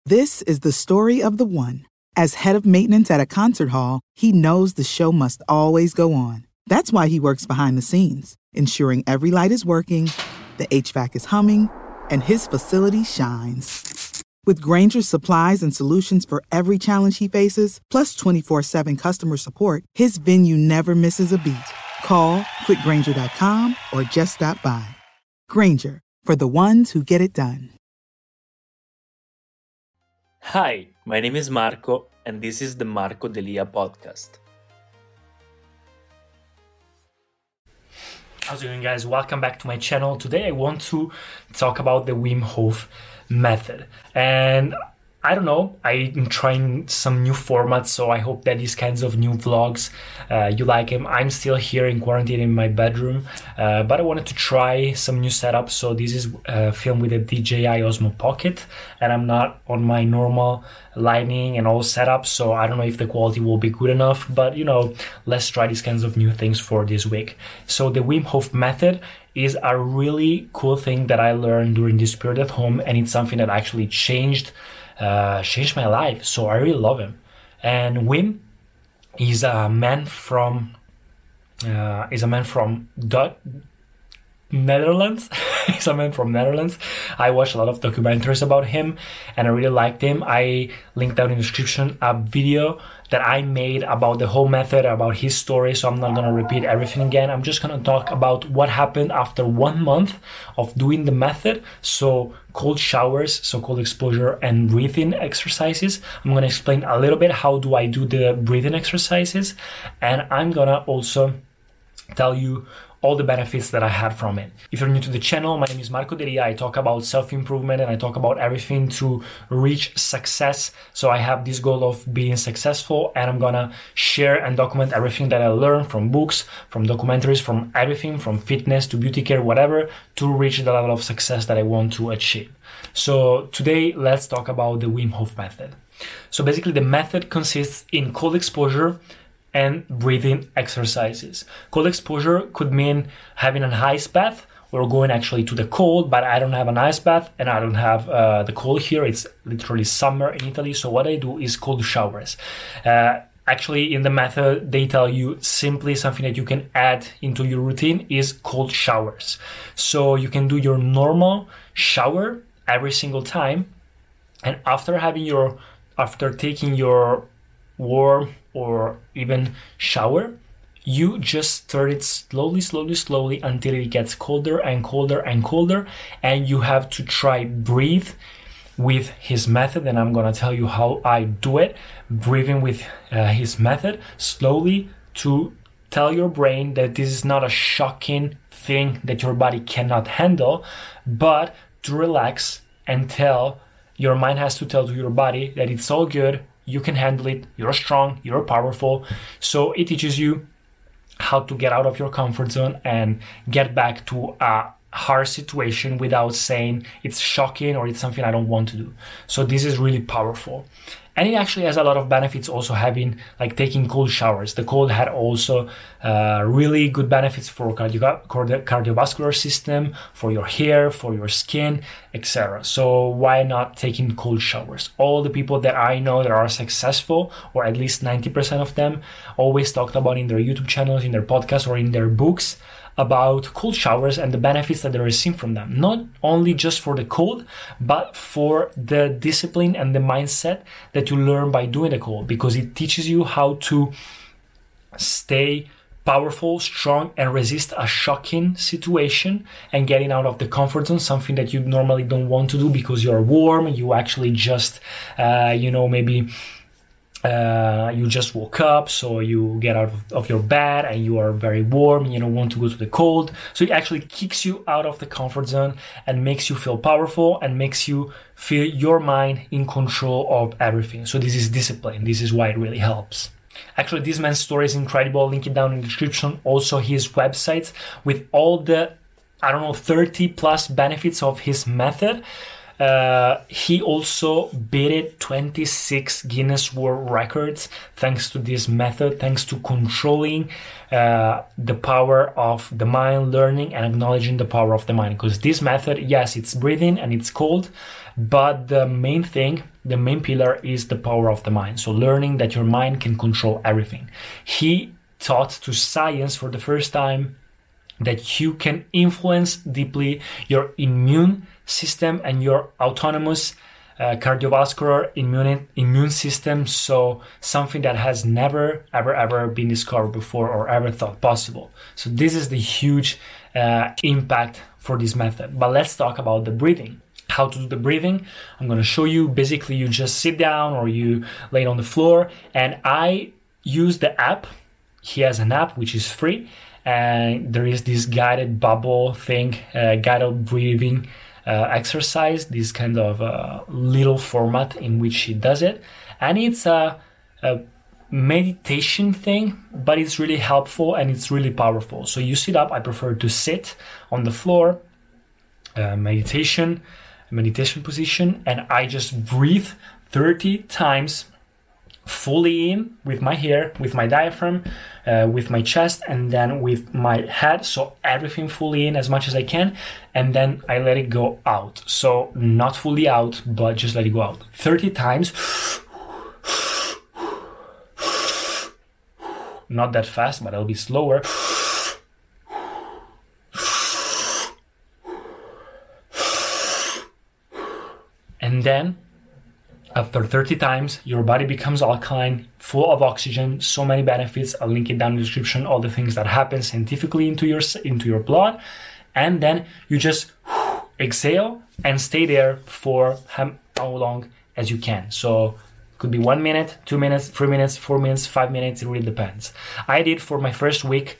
This is the story of the one. As head of maintenance at a concert hall, he knows the show must always go on. That's why he works behind the scenes, ensuring every light is working, the HVAC is humming, and his facility shines. With Grainger's supplies and solutions for every challenge he faces, plus 24/7 customer support, his venue never misses a beat. Call quickgrainger.com or just stop by. Grainger, for the ones who get it done. Hi, my name is Marco, and this is the Marco Delia podcast. How's it going, guys? Welcome back to my channel. Today I want to talk about the Wim Hof method. And I don't know, I'm trying some new formats, so I hope that these kinds of new vlogs, you like them. I'm still here in quarantine in my bedroom, but I wanted to try some new setups. So this is filmed with a DJI Osmo Pocket, and I'm not on my normal lighting and all setups, so I don't know if the quality will be good enough, but let's try these kinds of new things for this week. So the Wim Hof method is a really cool thing that I learned during this period at home, and it's something that actually changed my life. So I really love him. And Wim is a man from Netherlands. He's a man from Netherlands. I watched a lot of documentaries about him and I really liked him. I linked down in the description a video that I made about the whole method, about his story, so I'm not going to repeat everything again. I'm just going to talk about what happened after 1 month of doing the method. So cold showers, so cold exposure and breathing exercises. I'm going to explain a little bit how do I do the breathing exercises, and I'm going to also tell you all the benefits that I had from it. If you're new to the channel, my name is Marco Delia. I talk about self-improvement and I talk about everything to reach success. So I have this goal of being successful, and I'm gonna share and document everything that I learned from books, from documentaries, from everything, from fitness to beauty care, whatever, to reach the level of success that I want to achieve. So today, let's talk about the Wim Hof method. So basically the method consists in cold exposure and breathing exercises. Cold exposure could mean having an ice bath or going actually to the cold, but I don't have an ice bath and I don't have the cold here. It's literally summer in Italy. So what I do is cold showers. Actually, in the method, they tell you simply something that you can add into your routine is cold showers. So you can do your normal shower every single time. And after taking your warm or even shower, you just stir it slowly until it gets colder and colder and colder, and you have to try breathe with his method, and I'm gonna tell you how I do it. Breathing with his method slowly to tell your brain that this is not a shocking thing that your body cannot handle, but to relax and tell your mind has to tell to your body that it's all good. You can handle it, you're strong, you're powerful. So it teaches you how to get out of your comfort zone and get back to a hard situation without saying it's shocking or it's something I don't want to do. So this is really powerful. And it actually has a lot of benefits also having, like taking cold showers. The cold had also really good benefits for cardiovascular system, for your hair, for your skin, etc. So why not taking cold showers? All the people that I know that are successful, or at least 90% of them, always talked about in their YouTube channels, in their podcasts, or in their books about cold showers and the benefits that they receive from them. Not only just for the cold, but for the discipline and the mindset that you learn by doing the cold, because it teaches you how to stay powerful, strong, and resist a shocking situation and getting out of the comfort zone, something that you normally don't want to do because you're warm, you actually just, maybe you just woke up, so you get out of your bed and you are very warm and you don't want to go to the cold. So it actually kicks you out of the comfort zone and makes you feel powerful and makes you feel your mind in control of everything. So this is discipline. This is why it really helps. Actually, this man's story is incredible. I'll link it down in the description. Also his website with all the, 30 plus benefits of his method. He also beat 26 Guinness World Records thanks to this method, thanks to controlling the power of the mind, learning and acknowledging the power of the mind. Because this method, yes, it's breathing and it's cold, but the main thing, the main pillar is the power of the mind. So learning that your mind can control everything. He taught to science for the first time that you can influence deeply your immune system and your autonomous cardiovascular immune system. So something that has never, ever been discovered before or ever thought possible. So this is the huge impact for this method. But let's talk about the breathing. How to do the breathing. I'm going to show you. Basically, you just sit down or you lay on the floor, and I use the app. He has an app which is free, and there is this guided bubble thing, guided breathing exercise, this kind of little format in which he does it. And it's a meditation thing, but it's really helpful and it's really powerful. So you sit up. I prefer to sit on the floor, meditation position, and I just breathe 30 times fully in with my hair, with my diaphragm, with my chest, and then with my head. So everything fully in as much as I can, and then I let it go out. So not fully out, but just let it go out 30 times. Not that fast, but I'll be slower. And then after 30 times, your body becomes alkaline, full of oxygen, so many benefits. I'll link it down in the description, all the things that happen scientifically into your blood. And then you just exhale and stay there for how long as you can. So it could be 1 minute, 2 minutes, 3 minutes, 4 minutes, 5 minutes. It really depends. I did for my first week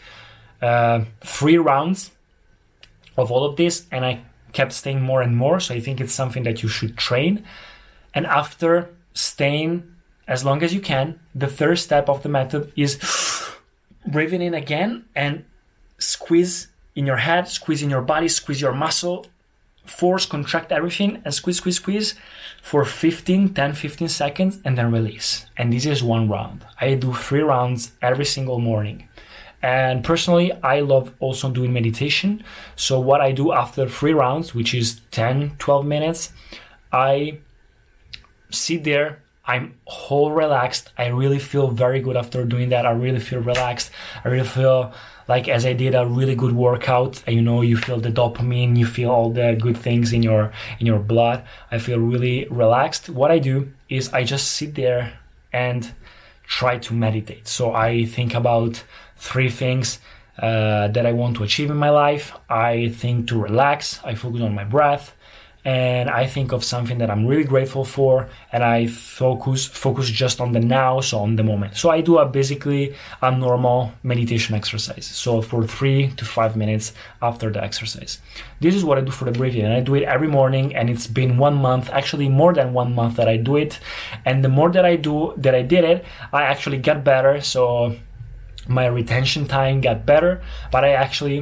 3 rounds of all of this, and I kept staying more and more. So I think it's something that you should train. And after staying as long as you can, the third step of the method is breathing in again and squeeze in your head, squeeze in your body, squeeze your muscle, force, contract everything, and squeeze for 10, 15 seconds, and then release. And this is 1 round. I do 3 rounds every single morning. And personally, I love also doing meditation. So what I do after 3 rounds, which is 10, 12 minutes, I sit there. I'm whole relaxed. I really feel very good after doing that. I really feel relaxed. I really feel like as I did a really good workout. You know, you feel the dopamine, you feel all the good things in your blood. I feel really relaxed. What I do is I just sit there and try to meditate. So I think about 3 things that I want to achieve in my life. I think to relax. I focus on my breath. And I think of something that I'm really grateful for, and I focus just on the now, so on the moment. So I do basically a normal meditation exercise. So for 3 to 5 minutes after the exercise. This is what I do for the breathing, and I do it every morning, and it's been 1 month, actually more than 1 month that I do it. And the more that I did it, I actually got better. So my retention time got better, but I actually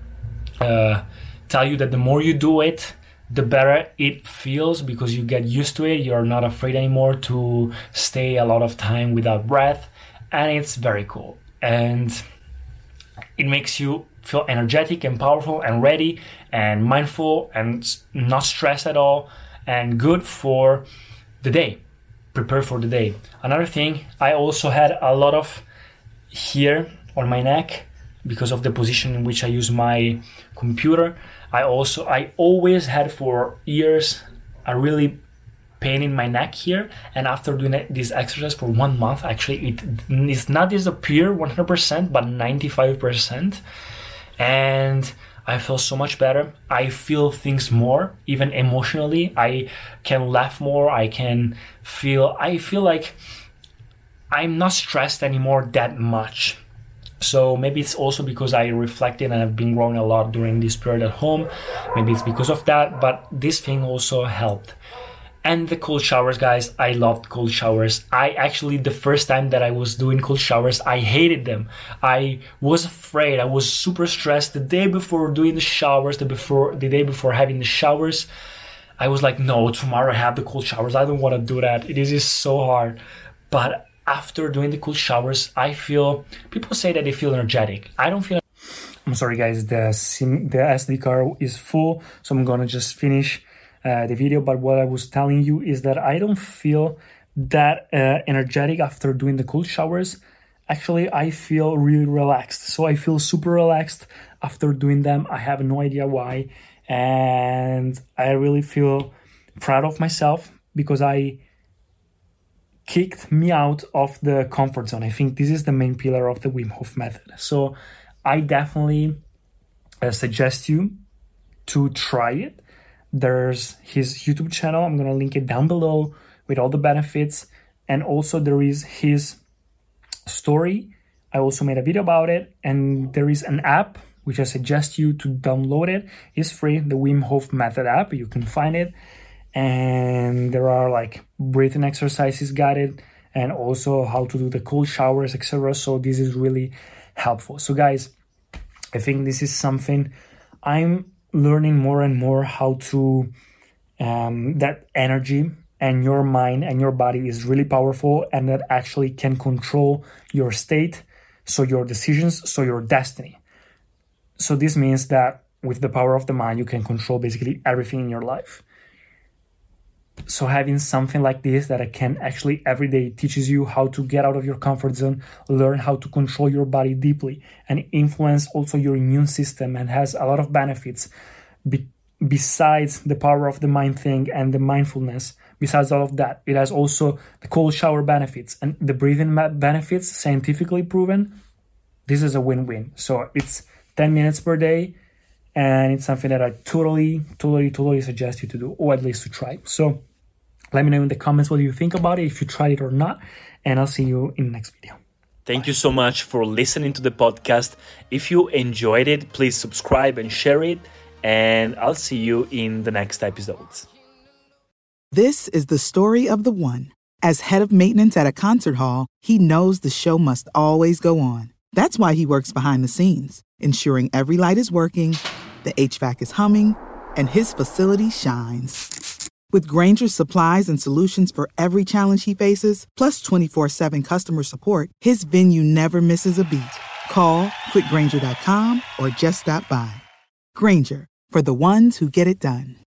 tell you that the more you do it, the better it feels, because you get used to it. You're not afraid anymore to stay a lot of time without breath, and it's very cool. And it makes you feel energetic and powerful and ready and mindful and not stressed at all, and good for the day. Prepare for the day. Another thing, I also had a lot of here on my neck because of the position in which I use my computer. I always had for years a really pain in my neck here, and after doing this exercise for 1 month, actually it's not disappear 100%, but 95%, and I feel so much better. I feel things more, even emotionally. I can laugh more. I feel like I'm not stressed anymore that much. So maybe it's also because I reflected and I've been growing a lot during this period at home. Maybe it's because of that, but this thing also helped. And the cold showers, guys, I loved cold showers. The first time that I was doing cold showers, I hated them. I was afraid. I was super stressed the day before doing the showers, the day before having the showers. I was like, no, tomorrow I have the cold showers. I don't want to do that. It is just so hard. But after doing the cold showers, people say that they feel energetic. I don't feel. I'm sorry, guys. The SD card is full, so I'm gonna just finish the video. But what I was telling you is that I don't feel that energetic after doing the cold showers. Actually, I feel really relaxed. So I feel super relaxed after doing them. I have no idea why. And I really feel proud of myself because I kicked me out of the comfort zone. I think this is the main pillar of the Wim Hof method. So I definitely suggest you to try it. There's his YouTube channel. I'm going to link it down below with all the benefits. And also there is his story. I also made a video about it. And there is an app which I suggest you to download it. It's free, the Wim Hof Method app. You can find it. And there are like breathing exercises guided and also how to do the cold showers, etc. So this is really helpful. So guys, I think this is something I'm learning more and more how to, that energy and your mind and your body is really powerful and that actually can control your state, so your decisions, so your destiny. So this means that with the power of the mind, you can control basically everything in your life. So having something like this that can actually every day teaches you how to get out of your comfort zone, learn how to control your body deeply and influence also your immune system, and has a lot of benefits besides the power of the mind thing and the mindfulness. Besides all of that, it has also the cold shower benefits and the breathing benefits, scientifically proven. This is a win-win. So it's 10 minutes per day, and it's something that I totally suggest you to do, or at least to try. So let me know in the comments what you think about it, if you tried it or not, and I'll see you in the next video. Thank you so much for listening to the podcast. If you enjoyed it, please subscribe and share it, and I'll see you in the next episodes. This is the story of the one. As head of maintenance at a concert hall, he knows the show must always go on. That's why he works behind the scenes, ensuring every light is working, the HVAC is humming, and his facility shines. With Grainger's supplies and solutions for every challenge he faces, plus 24/7 customer support, his venue never misses a beat. Call quickgrainger.com or just stop by. Grainger, for the ones who get it done.